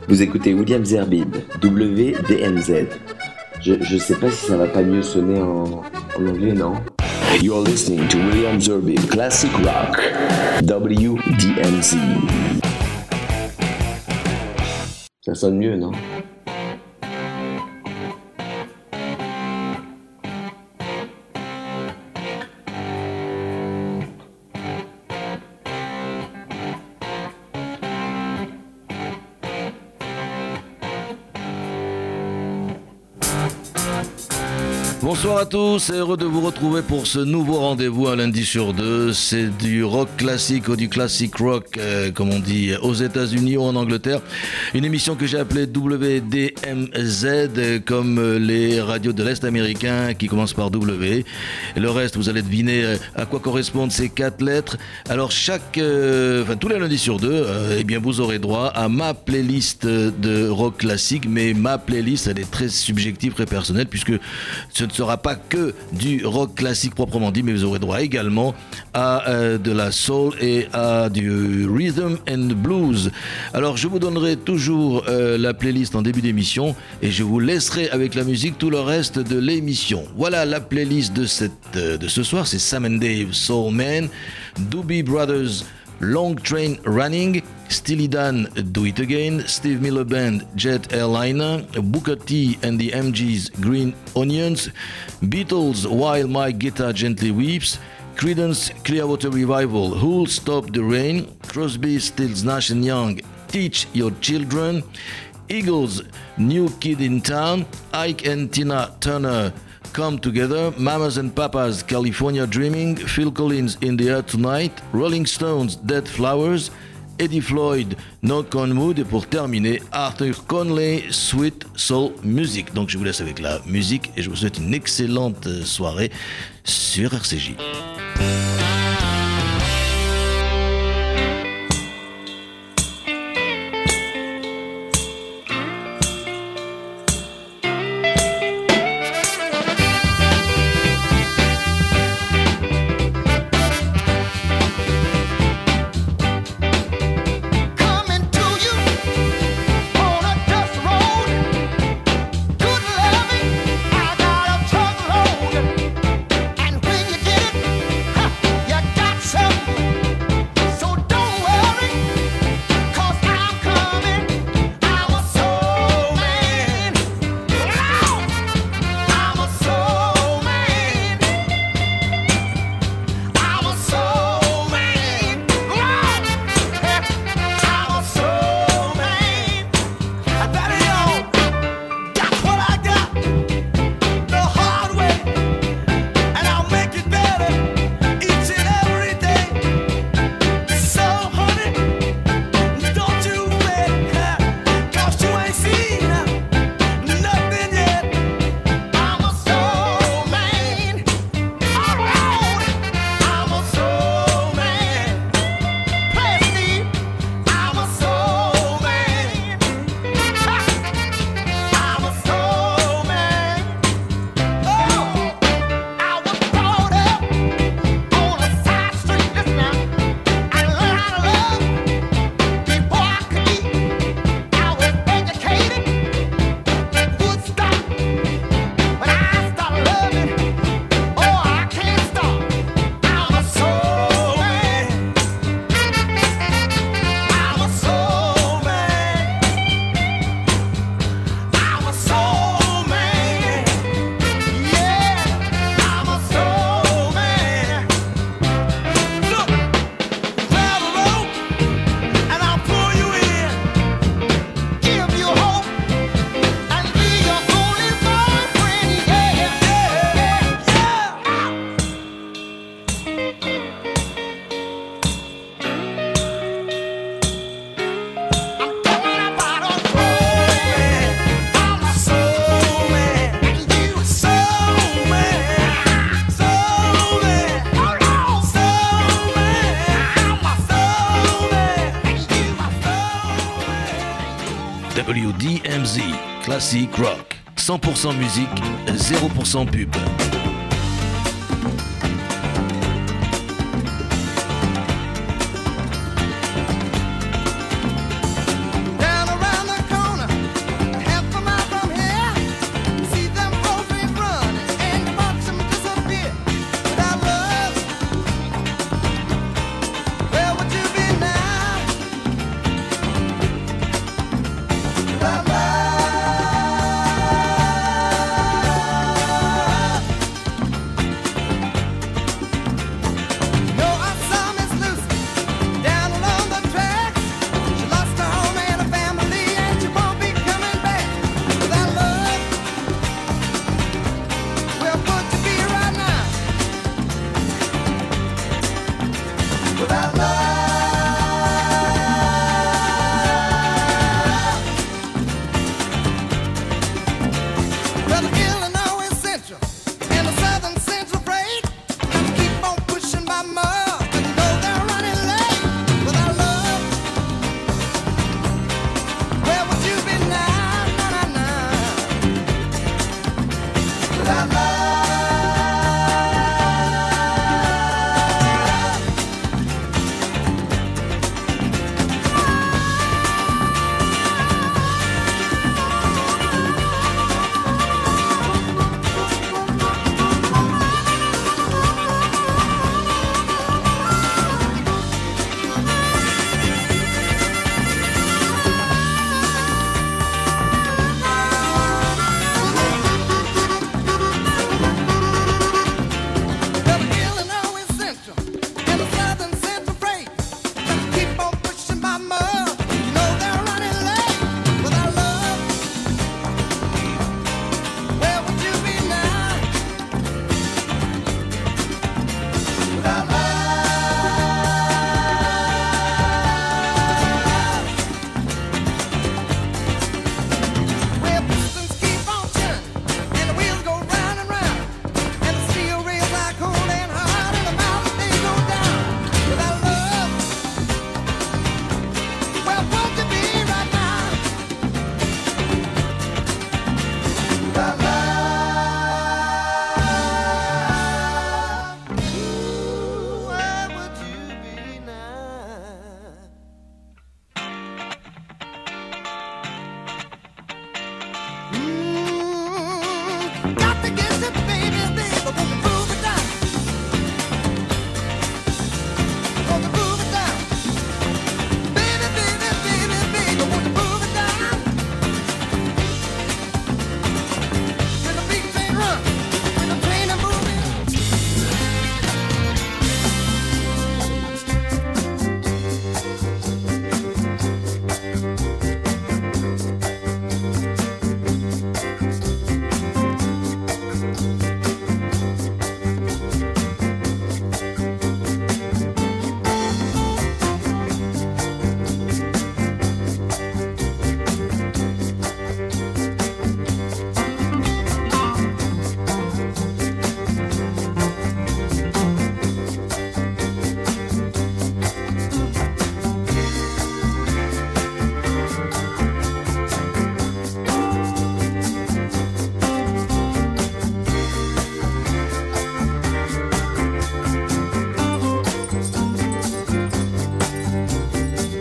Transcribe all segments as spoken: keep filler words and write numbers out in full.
Vous écoutez William Zerbib, W D M Z. Je, je sais pas si ça va pas mieux sonner en, en anglais, non? You're listening to William Zerbib, Classic Rock, W D M Z. Ça sonne mieux, non? Bonsoir à tous, heureux de vous retrouver pour ce nouveau rendez-vous un lundi sur deux. C'est du rock classique ou du classic rock, euh, comme on dit aux États-Unis ou en Angleterre. Une émission que j'ai appelée W D M Z, euh, comme les radios de l'Est américain qui commencent par W. Et le reste, vous allez deviner euh, à quoi correspondent ces quatre lettres. Alors chaque, euh, enfin tous les lundis sur deux, euh, eh bien vous aurez droit à ma playlist de rock classique, mais ma playlist elle est très subjective, très personnelle, puisque ce ne sera pas que du rock classique proprement dit, mais vous aurez droit également à euh, de la soul et à du rhythm and blues. Alors je vous donnerai toujours euh, la playlist en début d'émission et je vous laisserai avec la musique tout le reste de l'émission. Voilà la playlist de, cette, euh, de ce soir, c'est Sam and Dave, Soul Man, Doobie Brothers, Long Train Running, Steely Dan, Do It Again, Steve Miller Band, Jet Airliner, Booker T and the M Gs, Green Onions, Beatles, While My Guitar Gently Weeps, Creedence Clearwater Revival, Who'll Stop the Rain, Crosby, Stills, Nash and Young, Teach Your Children, Eagles, New Kid in Town, Ike and Tina Turner, Come Together, Mamas and Papas, California Dreaming, Phil Collins, In the Air Tonight, Rolling Stones, Dead Flowers, Eddie Floyd, Knock on Wood et pour terminer, Arthur Conley, Sweet Soul Music. Donc je vous laisse avec la musique et je vous souhaite une excellente soirée sur R C J. W D M Z, Classic Rock, cent pour cent musique, zéro pour cent pub. Down around the corner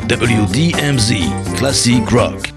W D M Z Classic Rock.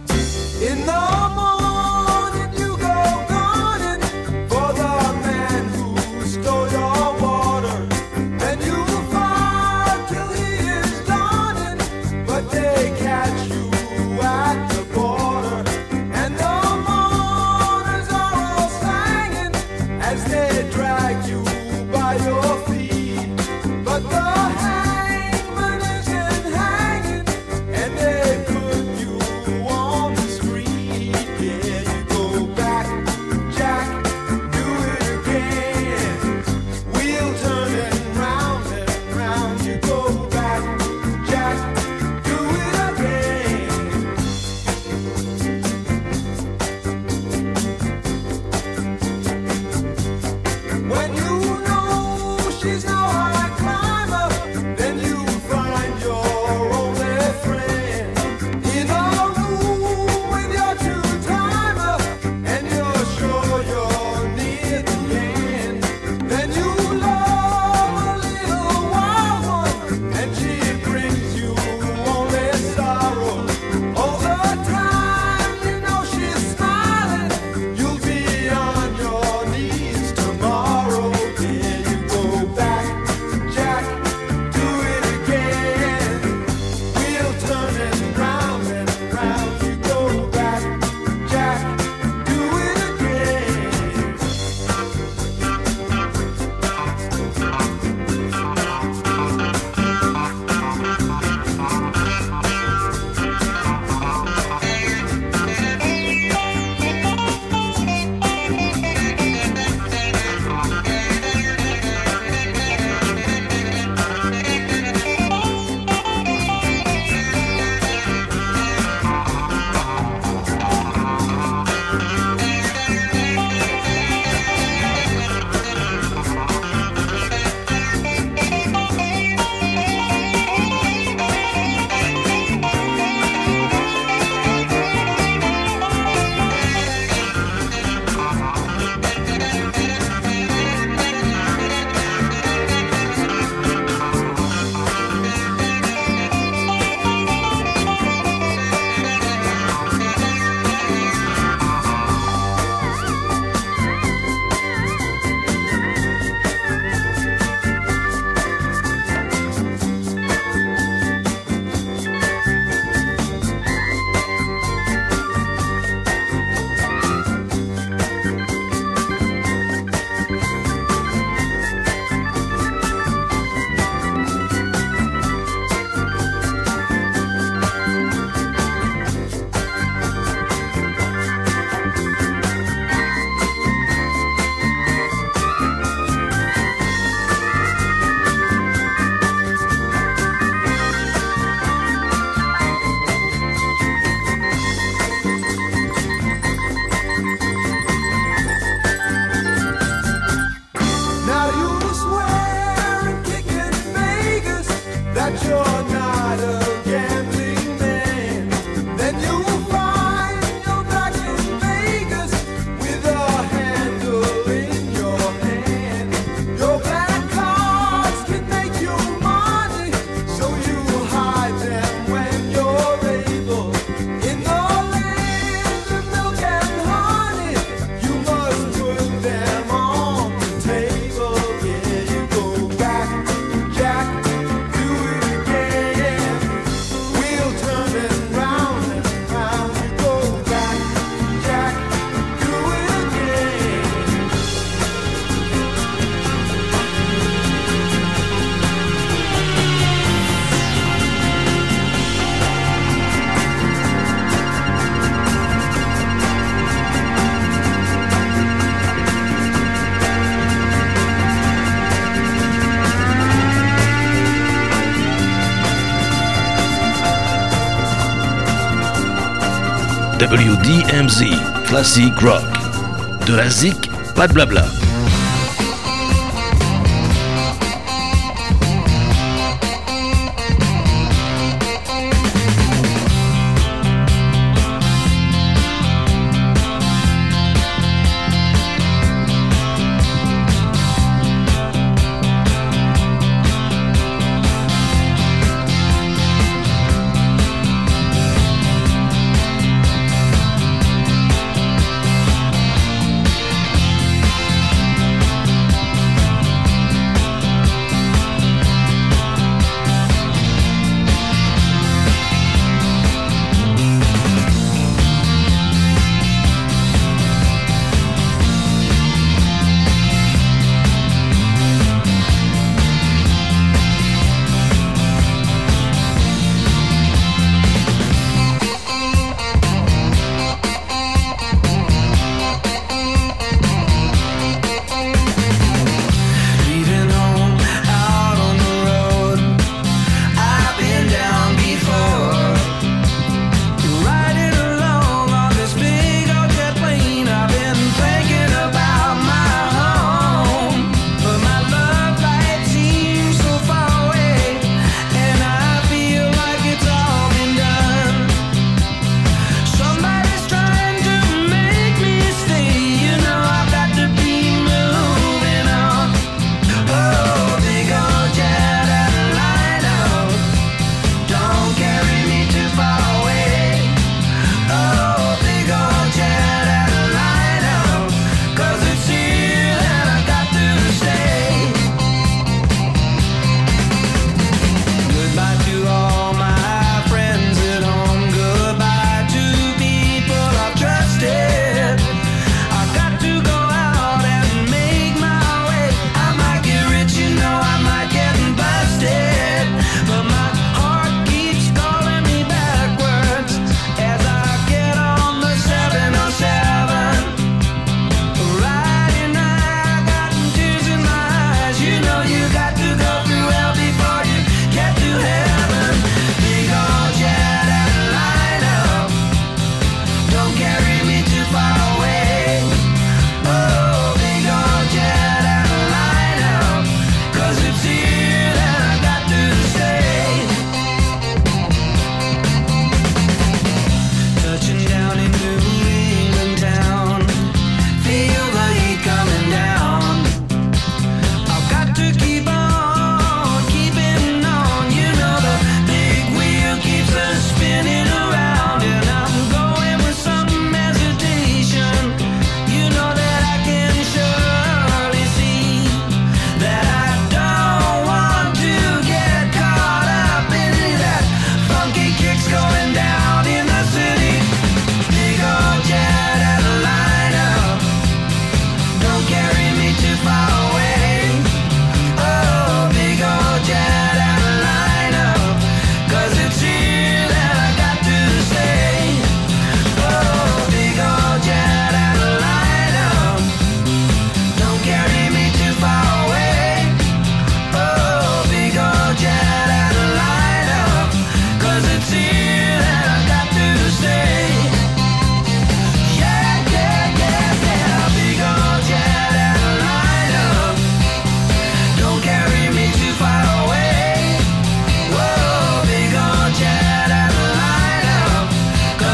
W D M Z Classic Rock. De la zik, pas de blabla.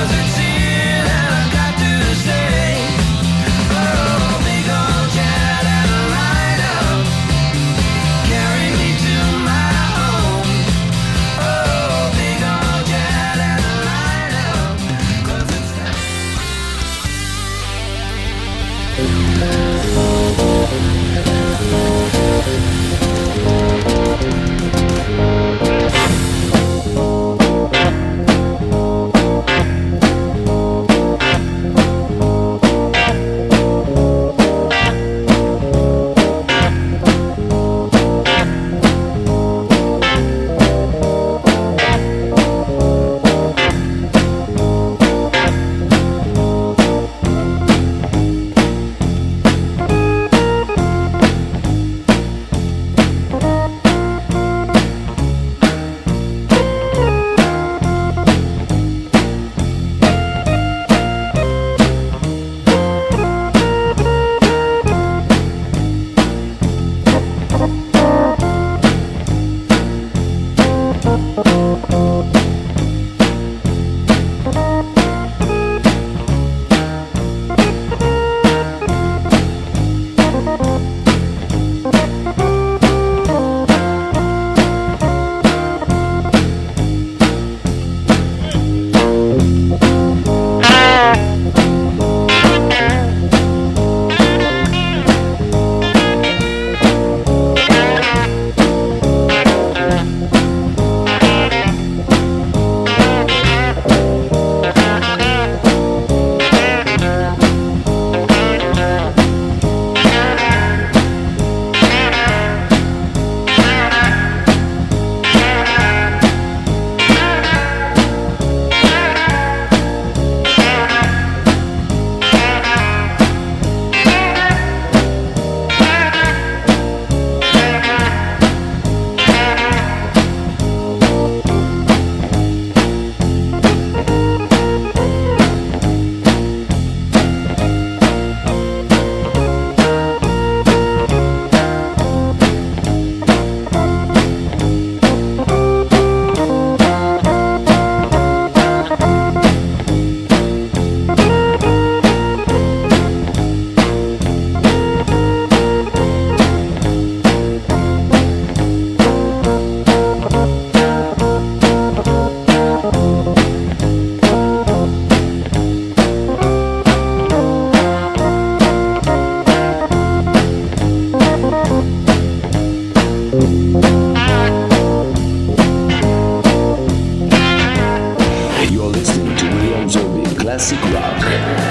Classic Rock,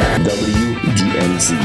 W D M Z.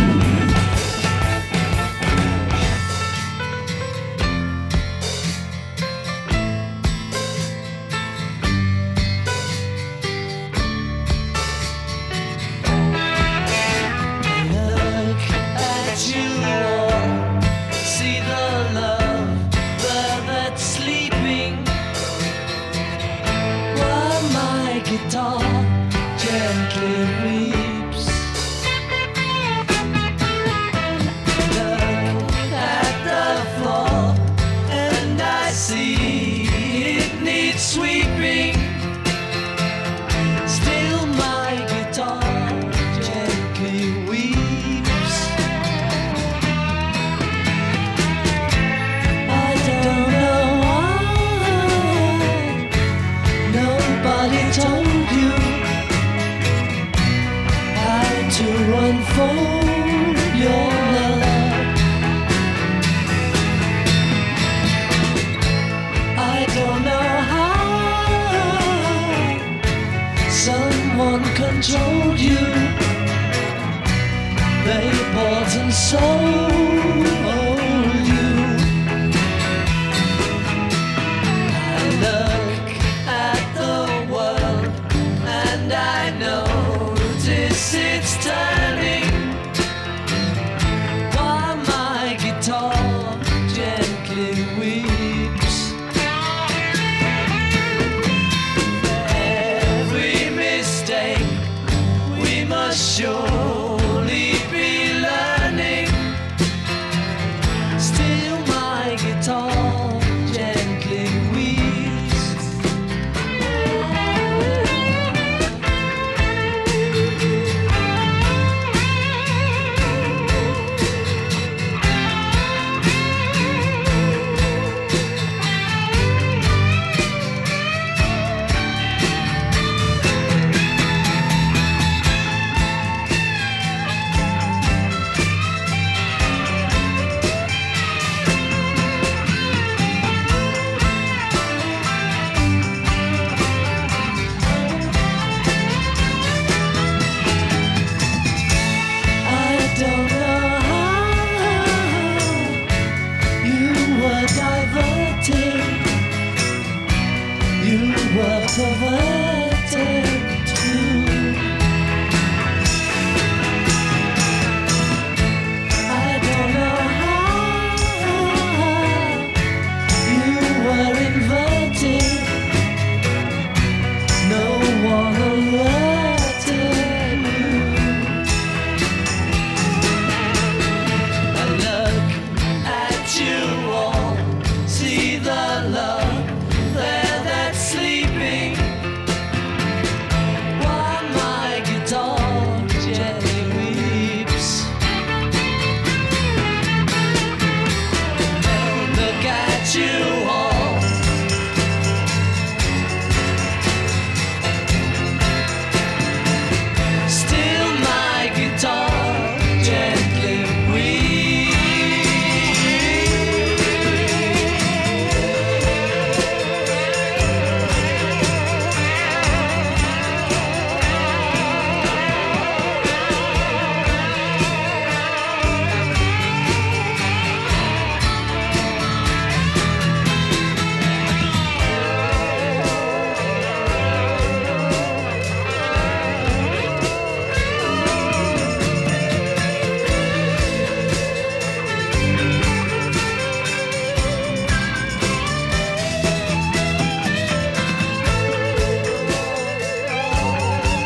Controlled you, they bought and sold you. I look at the world and I notice it's turning, while my guitar gently weeps. Surely be learning. Still my guitar gently weeps.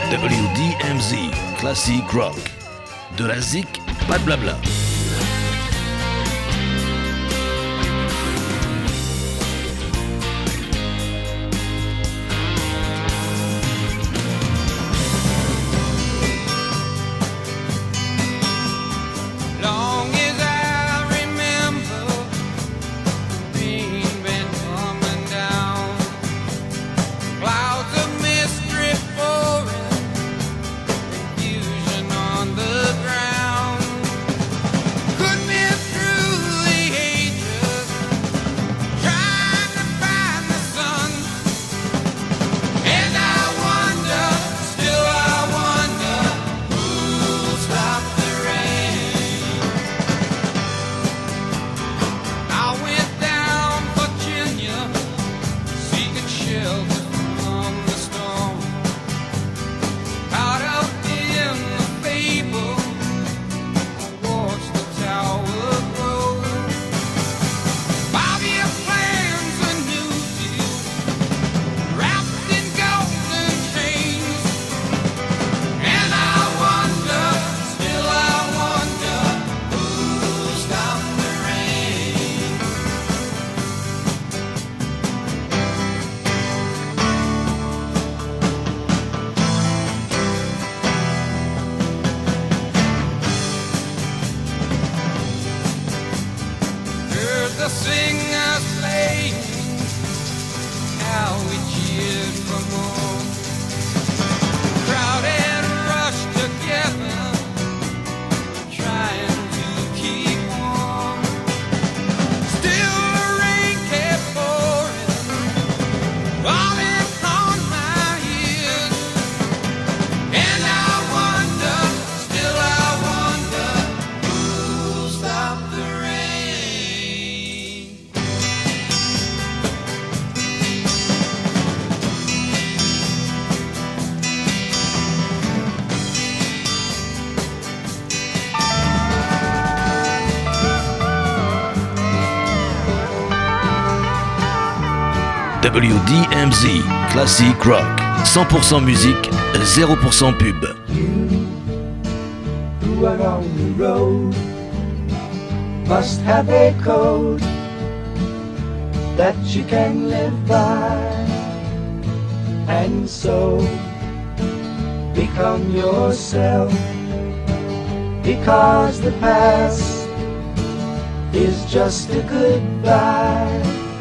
W D M Z, Classic Rock. De la zik, pas de blabla. W D M Z, Classic Rock, cent pour cent musique, zéro pour cent pub. You who are on the road must have a code that you can live by, and so become yourself, because the past is just a goodbye.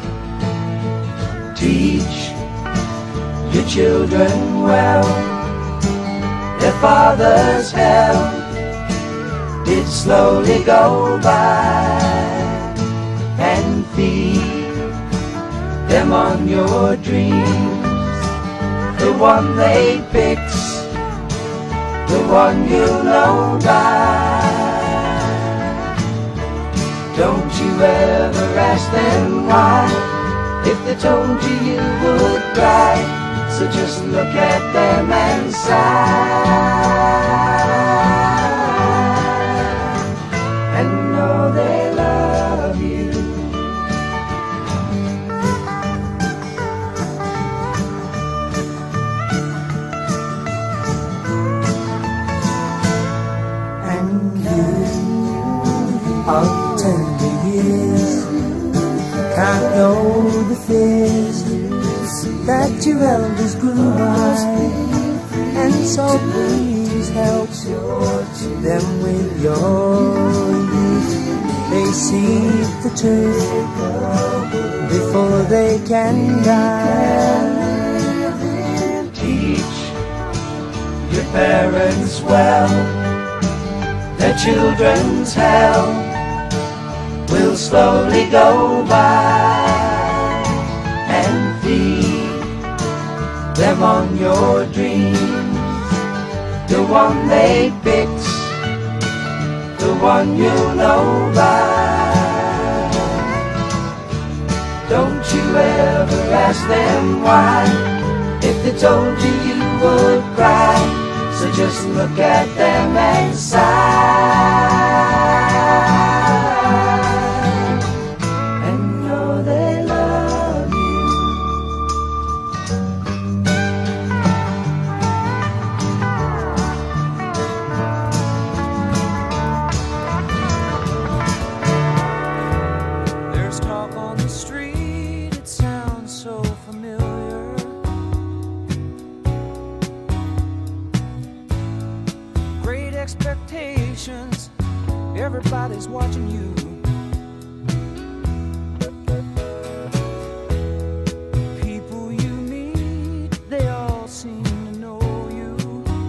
Teach your children well, their father's hell did slowly go by, and feed them on your dreams, the one they fix, the one you'll know by. Don't you ever ask them why, if they told you you would cry, so just look at them and sigh, and know they love you. And you of tender years can't know the fears that your elders grew by, and so please help them with your youth. They see the truth before they can die. Teach your parents well, their children's hell will slowly go by, and feed them on your dreams, the one they fix, the one you know by. Don't you ever ask them why, if they told you you would cry, so just look at them and sigh. expectations. Everybody's watching you. People you meet, they all seem to know you.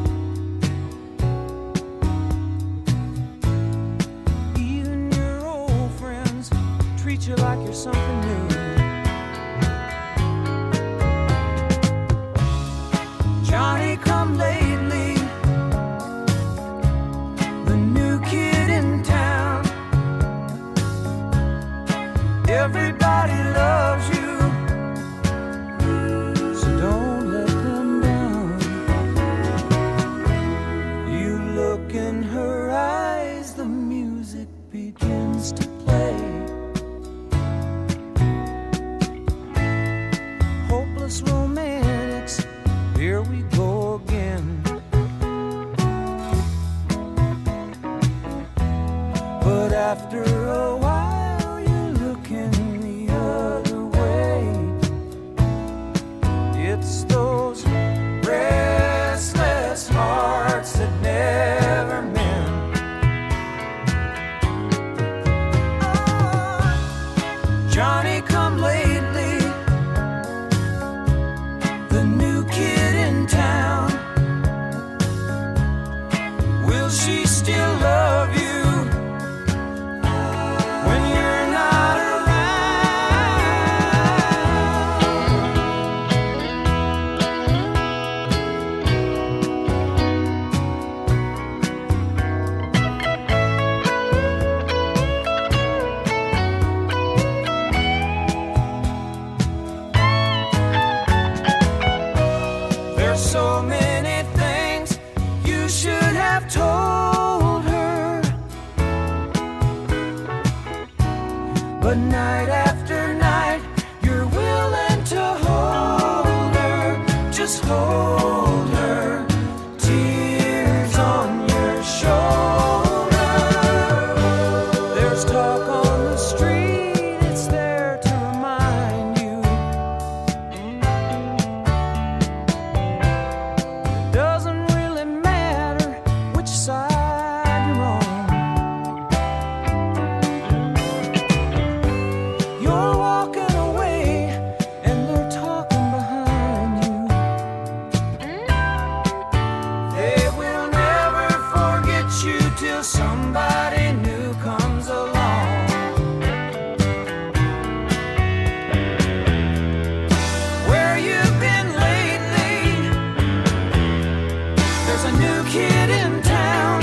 Even your old friends treat you like you're something new. Johnny come lately, the new kid in town. Everybody loves you, so don't let them down. You look in her eyes, the music begins to play. Hopeless romantics, here we go again. But after a while you're looking the other way. It's those restless hearts that never mend. Oh, Johnny come lately, the new kid in town. Will she still love you when you're not There's so many things you should have told her, but night after night you're willing to hold her, just hold her, tears on your shoulder. There's talk on the street, it's there to remind you. It doesn't really matter which side you're on. You're walking away and they're talking behind you. They will never forget you till somebody new comes along. Where you've been lately, there's a new kid in town.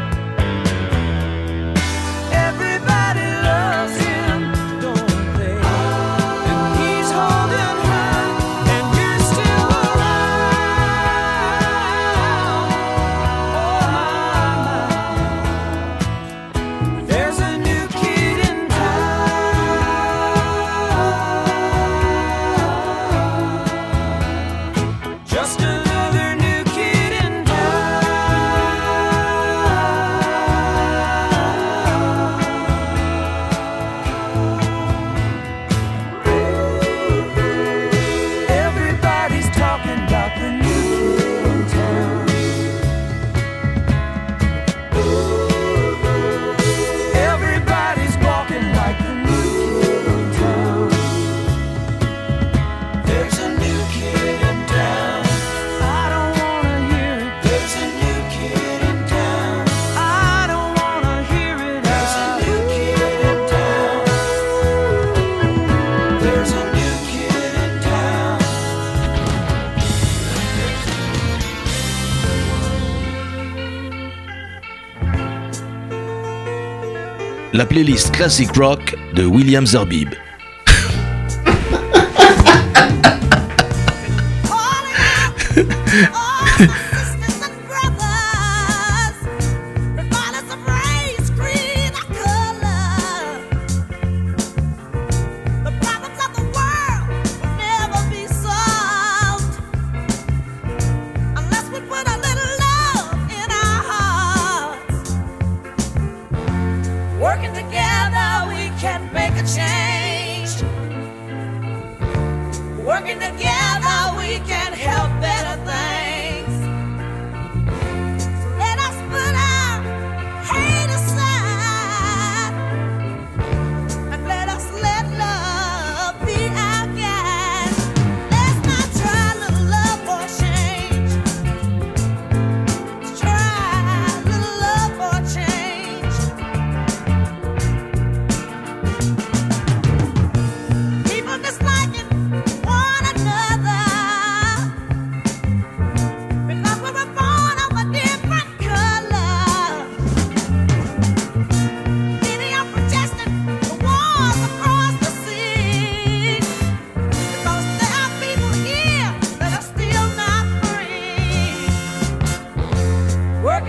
Everybody loves him, don't they? And he's holding her, and you're still around. Oh my, my. There's a new kid in town. Just another new kid in town. Everybody's talking about the new kid in town. Everybody's walking like the new kid in town. There's a new kid in town. I don't wanna hear it. There's a new kid in town. I don't wanna hear it. There's a new kid in town. There's a new kid in town. La playlist Classic Rock de William Zerbib. Working together, we can make a change. Working together, we can help better things. So let us put our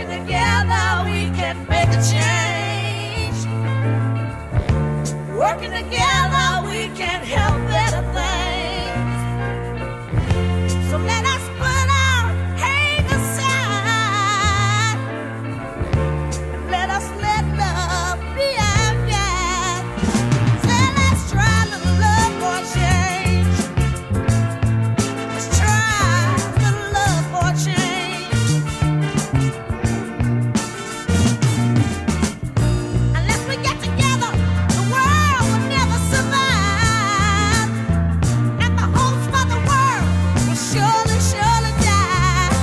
Working together, we can make a change. Working together, we can help better things. So let us put our hate aside and let us let love be our guide. So let's try a little love for a change. Let's try a little love for a change. Unless we get together, the world will never survive, and the hopes for the world will surely, surely die.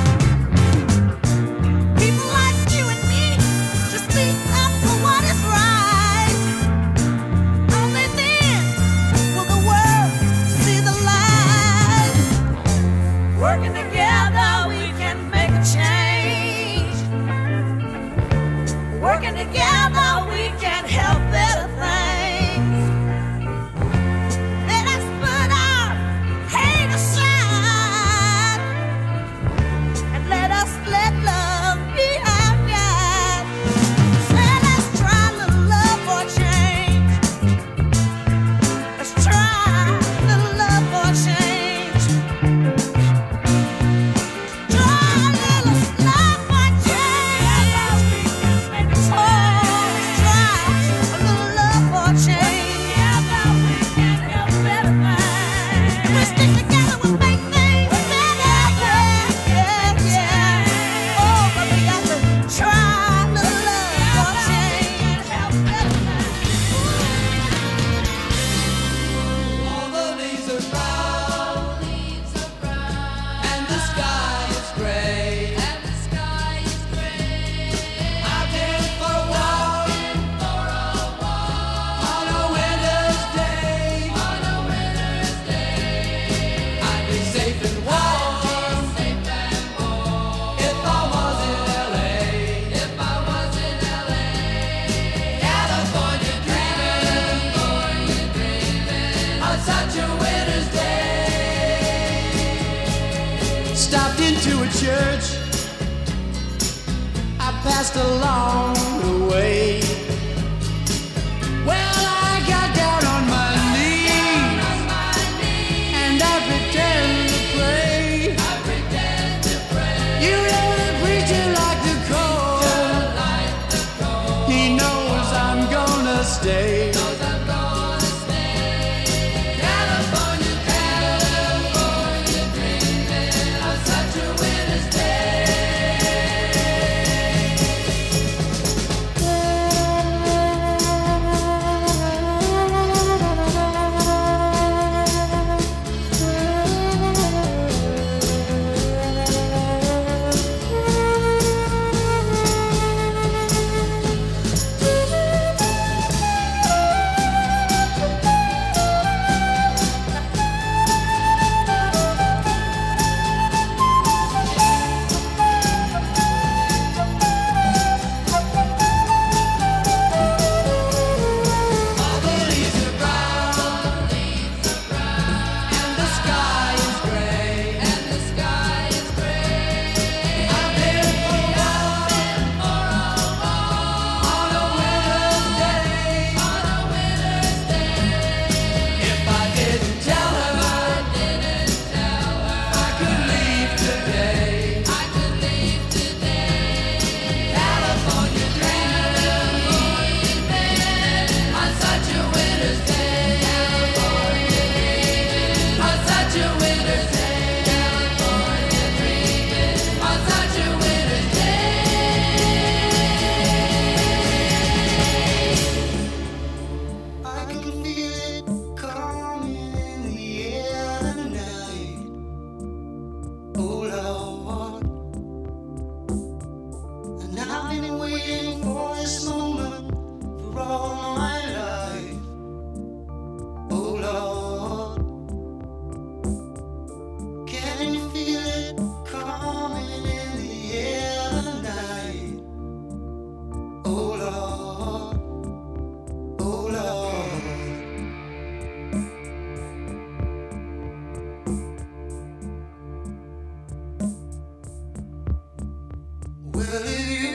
People like you and me just speak up for what is right. Only then will the world see the light. Working together, we can make a change. Working together, we can help better things. Let us put our hate aside and let us let love be our guide. So let's try a little love for a change. Let's try a little love for a change. Try a little love for a change. Oh, let's try a little love for a change. Together we can help better things. If we stick together, we'll make things better. Yeah, yeah, yeah. Oh, but we got to try a little love for a change. Help better things. All the leaves are brown, and the sky is gray. Out in for a walk on a winter's day. I'd be safe and warm if I was in L A. California dreaming on such a winter's day. Stopped into a church I passed along the way. Well, I got down on my knees and I pretend to pray. You know the preacher like the cold. He knows I'm gonna stay. California, California dreaming on such a winter's day.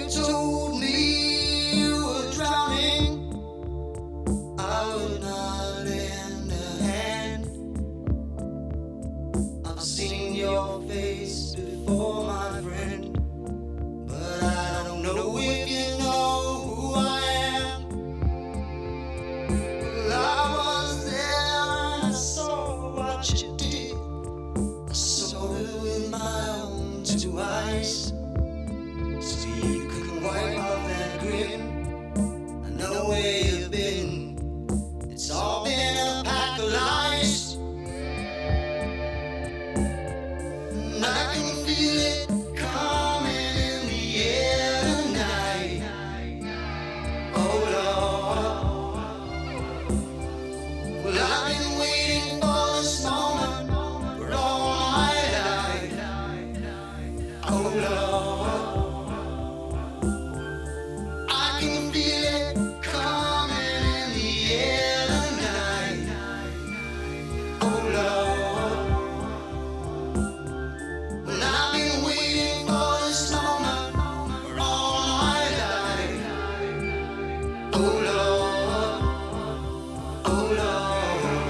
told me you were drowning, I would not lend a hand. I've seen your face before, my friend, but I don't know if you know who I am. Well, I was there and I saw what you did. I saw it with my own two eyes. So you can wipe off that grin. I know where you've been. It's all been a pack of lies. And I can feel it coming in the air tonight. Oh Lord. Well, I've been waiting for this moment for all my life. Oh Lord. I can feel it coming in the air tonight. Oh Lord. Well, I've been waiting for this moment for all my life. Oh Lord. Oh Lord.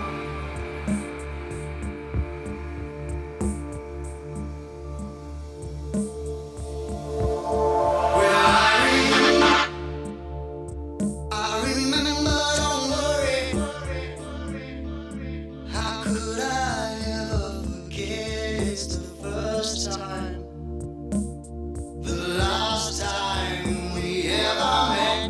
Well, I I remember, don't worry. How could I ever forget? It's the first time, the last time we ever met.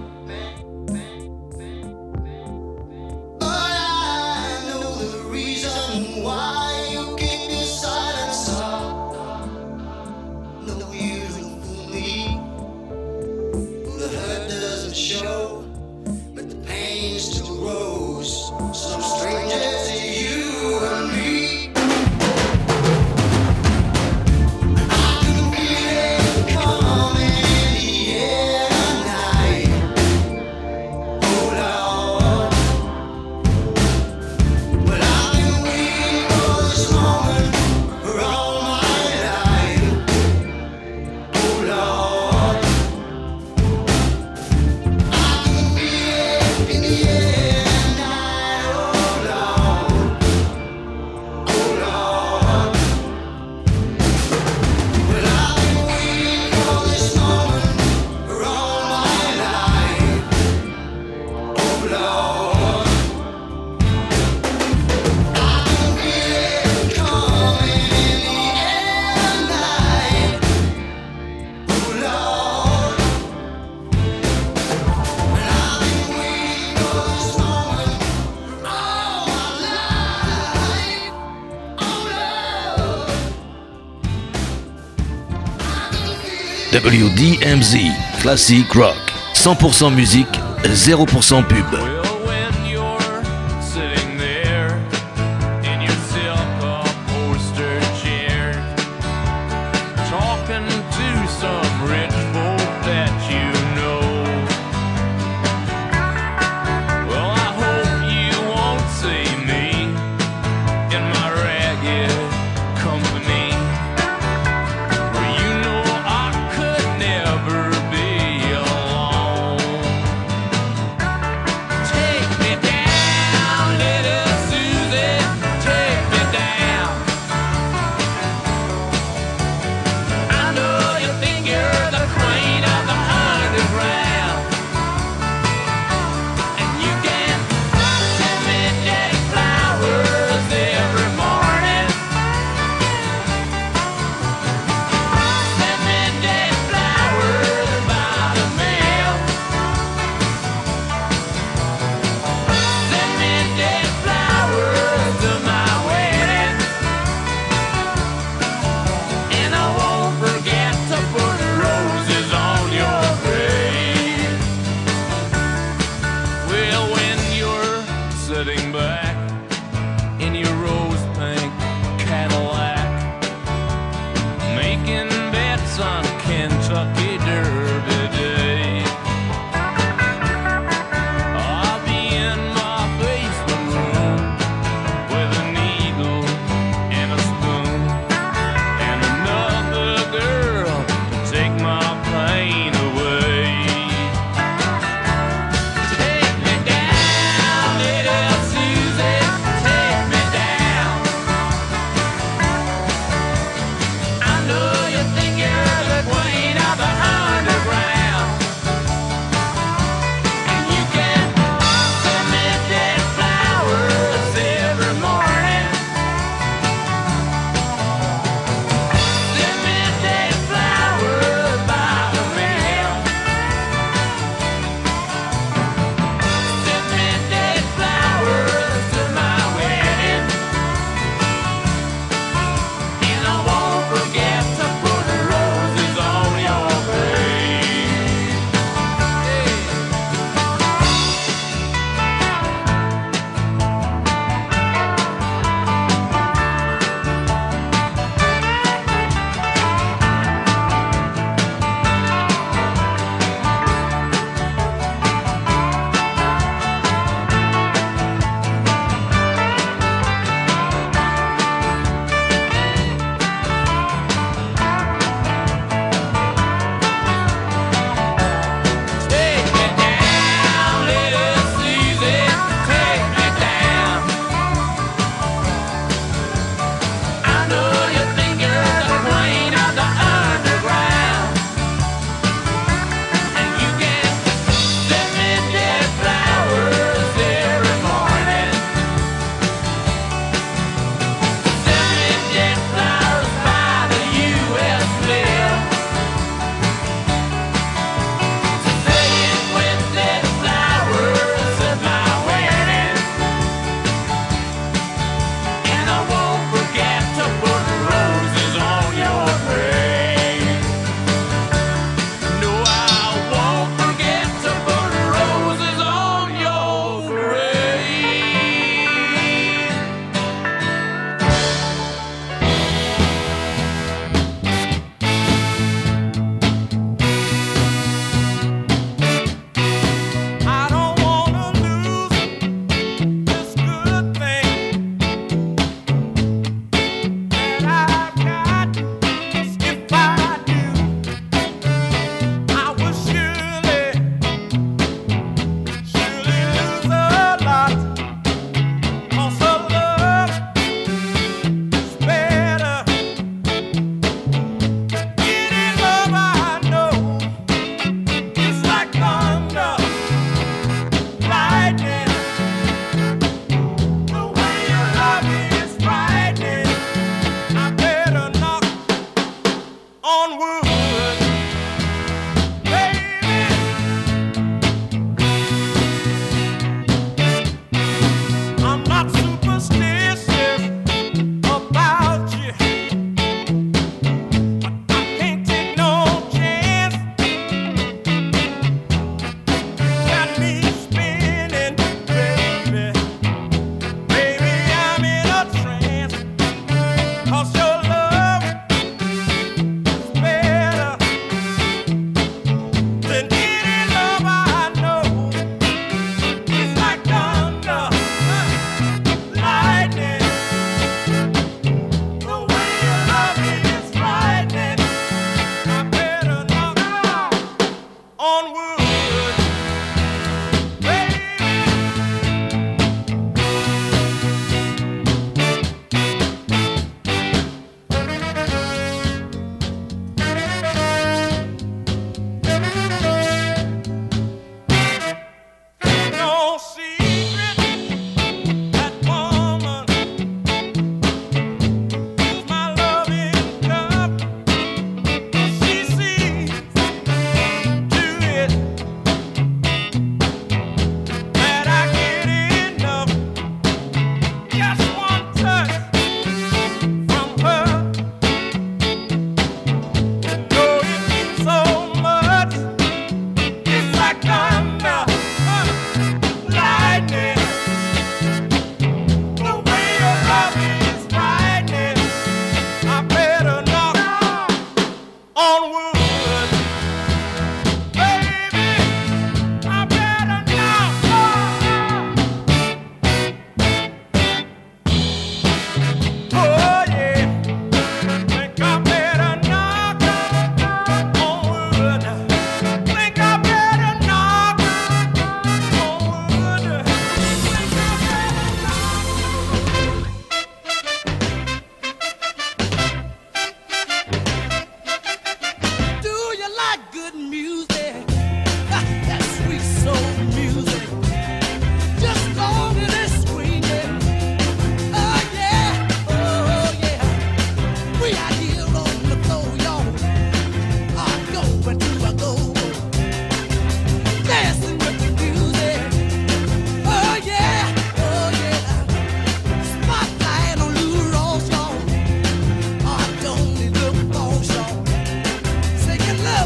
But I know the reason why you keep your silence up. No, you don't fool me. The hurt doesn't show, but the pain still grows. Some strangers to you and me. I can feel it coming in the air tonight. Oh Lord. Well, I've been waiting for this moment for all my life. Oh Lord. I can feel it in the air tonight. Oh Lord. Oh Lord. Well, I've been waiting for this moment for all my life. Oh Lord. I can feel it coming in the air tonight. Oh Lord. And I've been waiting for this moment for all my life. Oh Lord. W D M Z, Classic Rock, cent pour cent musique, zéro pour cent pub. Well, when you're sitting there in your silk-upholstered chair, talking to some rich folk that you know, well, I hope you won't see me in my ragged company, where you know I could never be alone. Take me down, little Susie, take me down. I know you think you're the queen of the underground, and you can send me day flowers every morning. Send me day flowers by the mail. Send me day flowers to my wedding, and I won't forget to put roses on your grave. Well, when you're sitting back in your rose pink Cadillac, making bets on Kentucky Derby Day, I'll be in my basement room with a needle and a spoon, and another girl to take my pain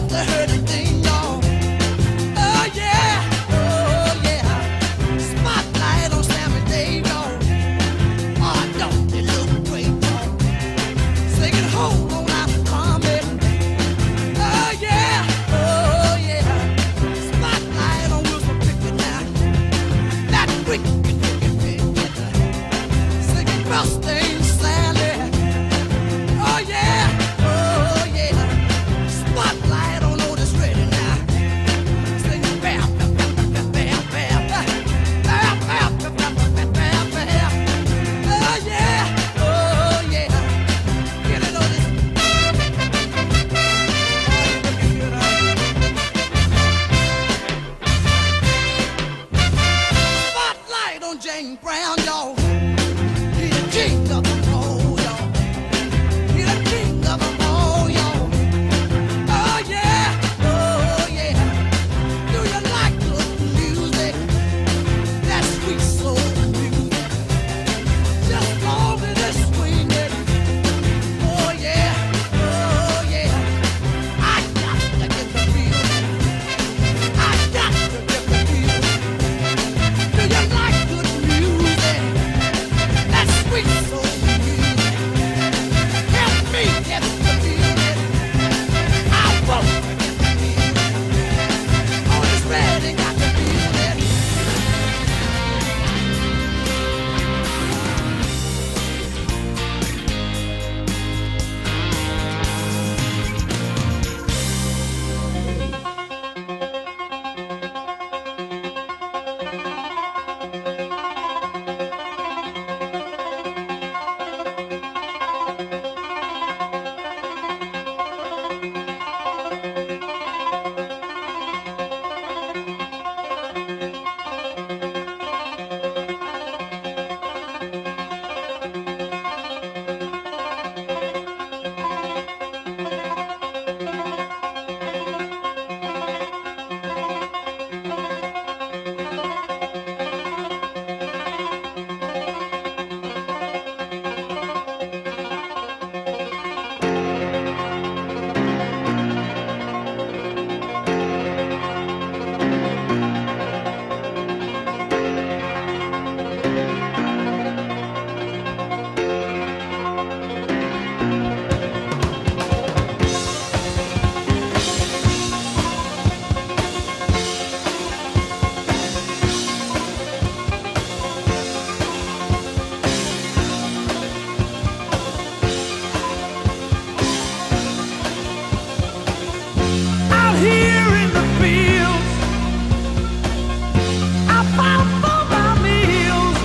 the hurting thing, y'all. Oh yeah, oh yeah. Spotlight on Sammy Dave, y'all. Oh, don't they look great, y'all? Singing hold on out the comment. Oh yeah, oh yeah. Spotlight on Wilson Pickett now. That wicked, wicked, wicked. Singing Rustin Sally. Oh yeah, oh yeah. Spotlight on Otis Redding now. Singing bam, bam, bam, bam, bam, bam. Bam, bam, bam, bam, bam, bam, bam. Oh yeah, oh yeah. Get it, Otis. Spotlight on James Brown, y'all. He the king of the roll, y'all. He the king of the roll, y'all. Oh yeah, oh yeah. Do you like good music? That sweet soul music. Just long as it's swinging. Oh yeah, oh yeah. I got to get the feeling. I got to get the feeling. Do you like good music? That sweet soul music. Help me get the feeling. I won't forget the feeling. Oh, it's ready, got the feeling. Out here in the fields, I fight for my meals.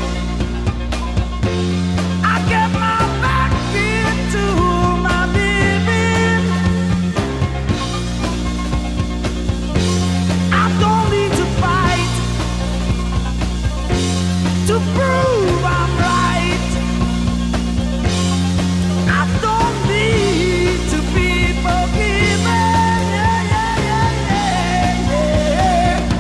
I get my back into my living. I don't need to fight to prove I'm right. I don't need to be forgiven. Yeah, yeah, yeah, yeah, yeah.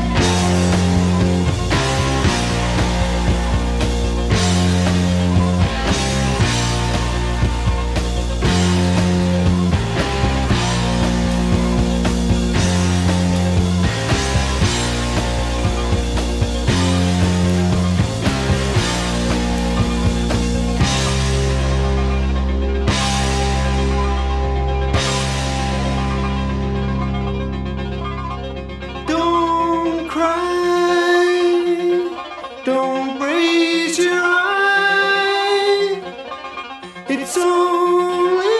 Don't cry, don't raise your eye. It's only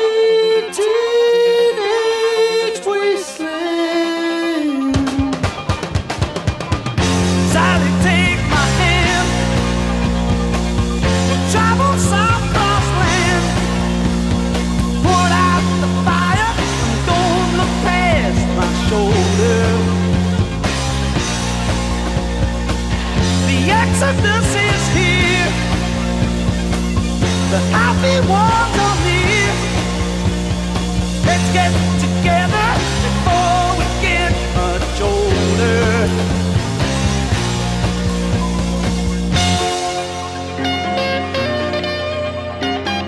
teenage wasteland. Sally, take my hand. Travel south cross land. Put out the fire. Don't look past my shoulder. The exodus is here. The happy ones are near. Let's get together before we get much older.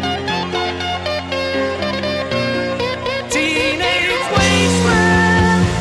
Teenage wasteland.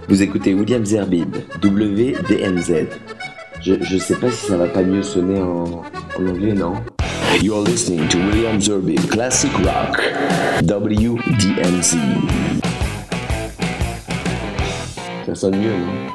Vous écoutez William Zerbib, W D M Z. Je, je sais pas si ça va pas mieux sonner en, en anglais, non? You're listening to William Zerbib, Classic Rock, W D M Z. Ça sonne mieux, non?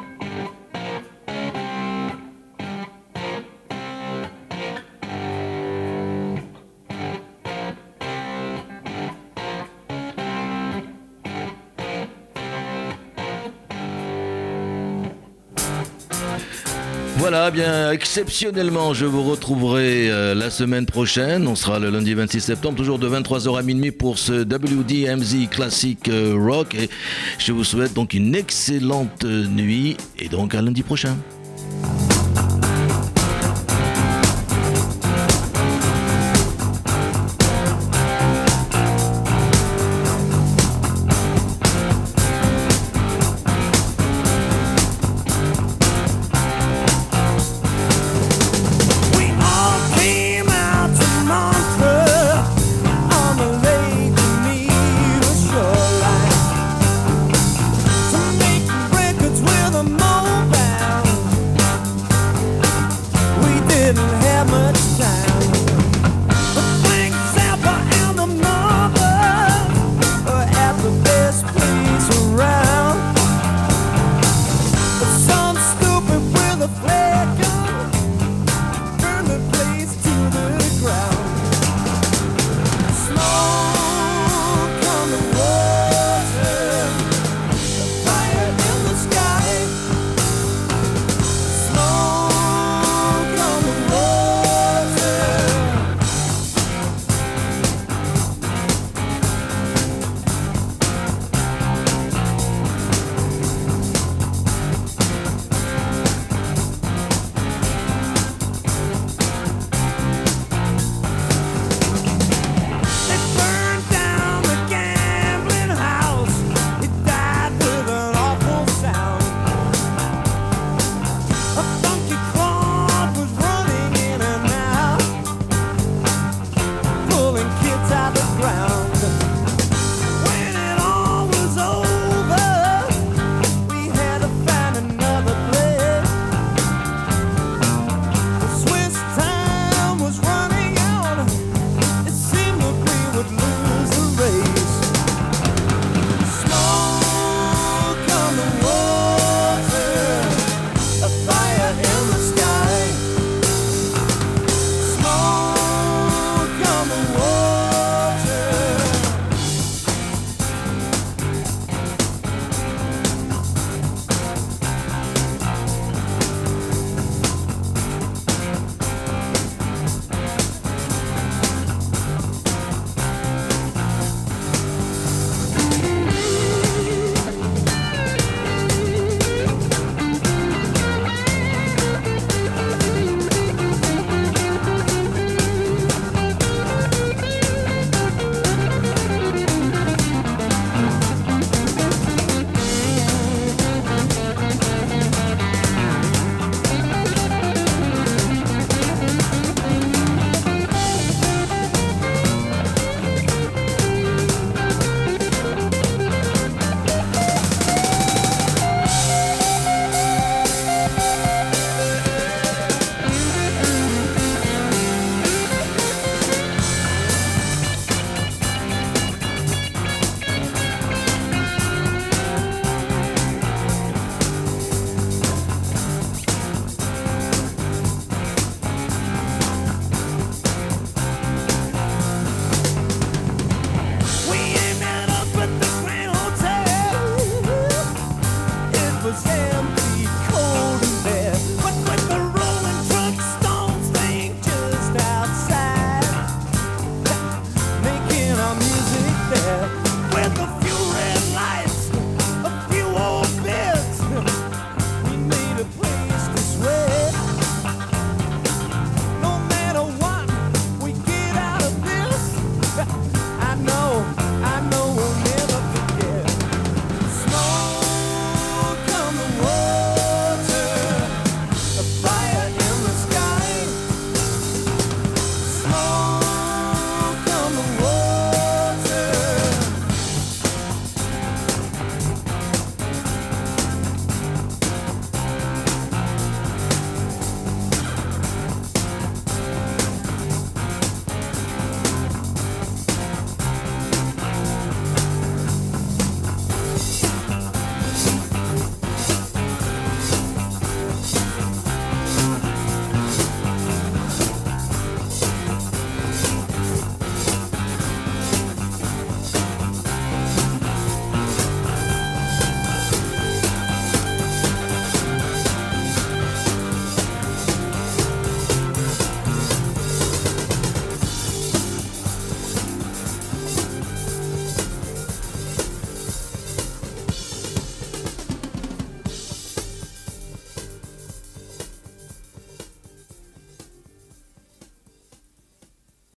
Voilà, bien exceptionnellement, je vous retrouverai euh, la semaine prochaine. On sera le lundi vingt-six septembre, toujours de vingt-trois heures à minuit pour ce W D M Z Classic euh, Rock. Et je vous souhaite donc une excellente nuit et donc à lundi prochain.